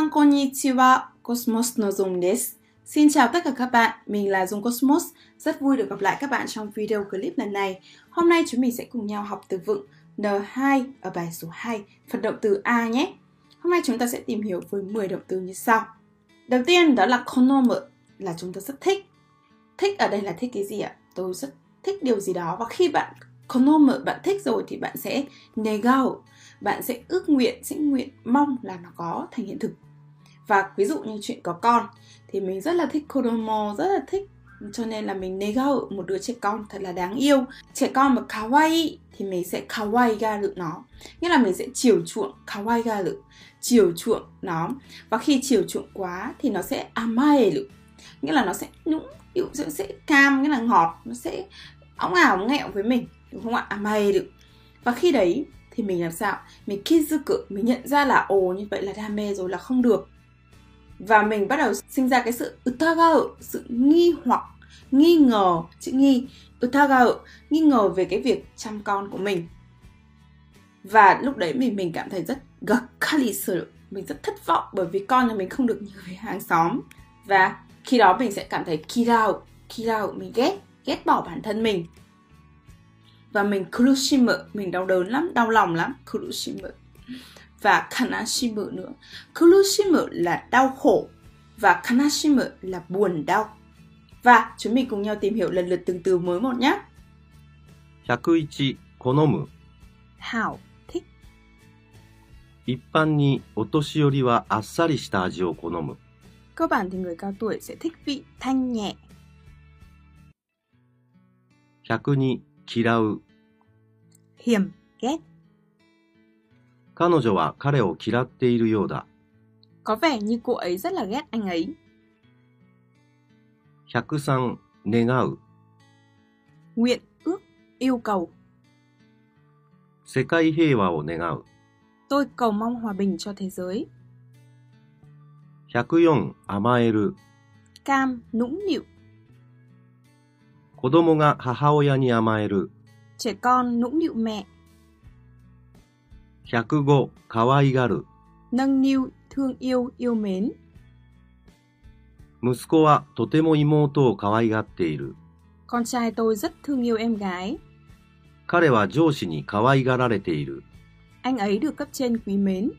Minasan konnichiwa, Cosmos no Dung desu. Xin chào tất cả các bạn, mình là Dung Cosmos. Rất vui được gặp lại các bạn trong video clip lần này. Hôm nay chúng mình sẽ cùng nhau học từ vựng N2 ở bài số 2, phần động từ A nhé. Hôm nay chúng ta sẽ tìm hiểu với 10 động từ như sau. Đầu tiên đó là konomu, là chúng ta rất thích. Thích ở đây là thích cái gì ạ? Tôi rất thích điều gì đó. Và khi bạn konomu, bạn thích rồi thì bạn sẽ negao, bạn sẽ ước nguyện, sẽ nguyện mong là nó có thành hiện thực. Và ví dụ như chuyện có con thì mình rất là thích kodomo, rất là thích, cho nên là mình negao một đứa trẻ con thật là đáng yêu. Trẻ con mà kawaii thì mình sẽ kawaigaru nó, nghĩa là mình sẽ chiều chuộng, kawaigaru, chiều chuộng nó. Và khi chiều chuộng quá thì nó sẽ amaeru, nghĩa là nó sẽ nũng nịu, sẽ cam, nghĩa là ngọt, nó sẽ óng ảo nghẹo với mình, đúng không ạ? Amaeru. Và khi đấy thì mình làm sao? Mình kizuku, mình nhận ra là ồ, như vậy là đam mê rồi, là không được. Và mình bắt đầu sinh ra cái sự utagao, sự nghi hoặc, nghi ngờ, chữ nghi, utagao, nghi ngờ về cái việc chăm con của mình. Và lúc đấy mình cảm thấy rất gakkari suru, mình rất thất vọng bởi vì con nhà mình không được như với hàng xóm. Và khi đó mình sẽ cảm thấy kirao, mình ghét bỏ bản thân mình. Và mình kurushimu, mình đau đớn lắm, đau lòng lắm, kurushimu. Và kanashimu nữa. Kurushimu là đau khổ và kanashimu là buồn đau. Và chúng mình cùng nhau tìm hiểu lần lượt từng từ mới một nhé. 101. 好む Hảo, thích. 一般にお年寄りはあっさりした味を好む Cơ bản thì người cao tuổi sẽ thích vị thanh nhẹ. 102. 嫌う Hiểm, ghét. 彼女は彼を嫌っているようだ Có vẻ như cô ấy rất là ghét anh ấy. 103. 願う Nguyện, ước, yêu cầu. 世界平和を願う Tôi cầu mong hòa bình cho thế giới. 104. 甘える Cam, nũng nịu. 子供が母親に甘える Trẻ con nũng nịu mẹ. 105. 可愛がる Nâng niu, thương yêu, yêu mến. 息子はとても妹を可愛がっている Con trai tôi rất thương yêu em gái. 彼は上司に可愛がられている Anh ấy được cấp trên quý mến.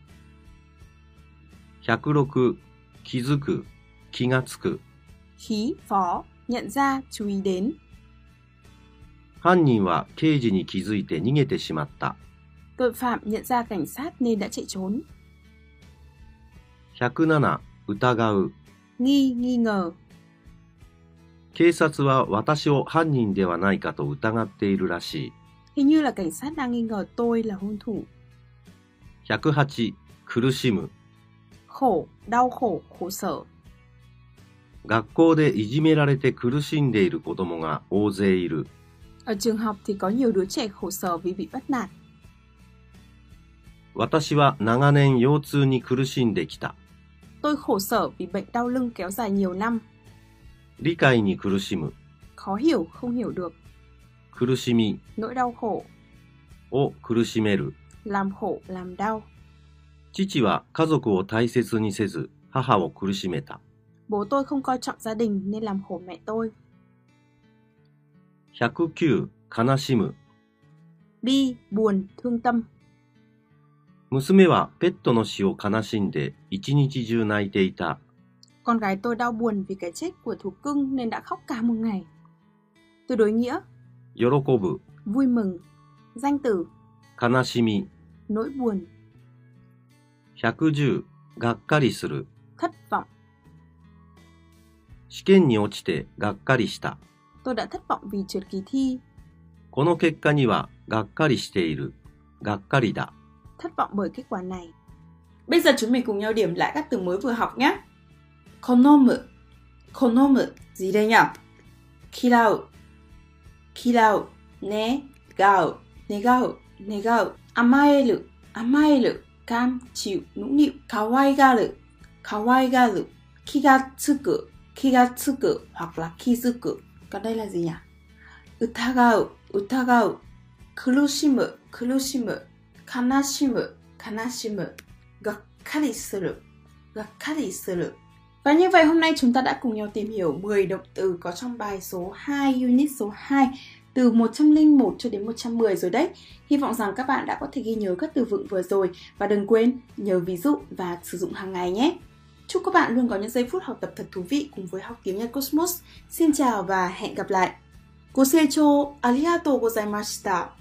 106. 気づく気がつく Khí, phó, nhận ra, chú ý đến. 犯人は刑事に気づいて逃げてしまった Tội phạm nhận ra cảnh sát nên đã chạy trốn. 107. 疑う Nghi, nghi ngờ. 警察は私を犯人ではないかと疑っているらしい Hình như là cảnh sát đang nghi ngờ tôi là hung thủ. 108. 苦しむ Khổ, đau khổ, khổ sở. 学校でいじめられて苦しんでいる子供が大勢いる Ở trường học thì có nhiều đứa trẻ khổ sở vì bị bắt nạt. 私は長年腰痛に苦しんできた Tôi khổ sở vì bệnh đau lưng kéo dài nhiều năm. 理解に苦しむ Khó hiểu, không hiểu được. 苦しみ Nỗi đau khổ, を苦しめる làm khổ, làm đau. 父は家族を大切にせず母を苦しめた Bố tôi không coi trọng gia đình nên làm khổ mẹ tôi. 109. 悲しむ Bi, buồn, thương tâm. 娘はペットの死を悲しんで一日中泣いていた Con gái tôi đau buồn vì cái chết của thú cưng nên đã khóc cả một ngày. Từ đối nghĩa, 喜ぶ vui mừng. Danh từ, 悲しみ nỗi buồn, 110. がっかりする thất vọng. 試験に落ちてがっかりした Tôi đã thất vọng vì trượt kỳ thi. この結果にはがっかりしているがっかりだ Thất vọng bởi kết quả này. Bây giờ chúng mình cùng nhau điểm lại các từ mới vừa học nhé. Konomu, konomu, gì đây nhỉ? Kirau, kirau, negao, negao, negao. Amaeru, amaeru, cam, chịu, nũng nịu. Kawaigaru, kawaigaru. Kigatsuku, kigatsuku hoặc là kizuku. Còn đây là gì nhỉ? Utagao, utagao. Kurushimu, kurushimu. Kanashimu, kanashimu. Gakkari suru, gakkari suru. Và như vậy hôm nay chúng ta đã cùng nhau tìm hiểu 10 động từ có trong bài số 2, unit số 2, từ 101 cho đến 110 rồi đấy. Hy vọng rằng các bạn đã có thể ghi nhớ các từ vựng vừa rồi và đừng quên nhớ ví dụ và sử dụng hàng ngày nhé. Chúc các bạn luôn có những giây phút học tập thật thú vị cùng với Học tiếng Nhật Cosmos. Xin chào và hẹn gặp lại.ご清聴ありがとうございました。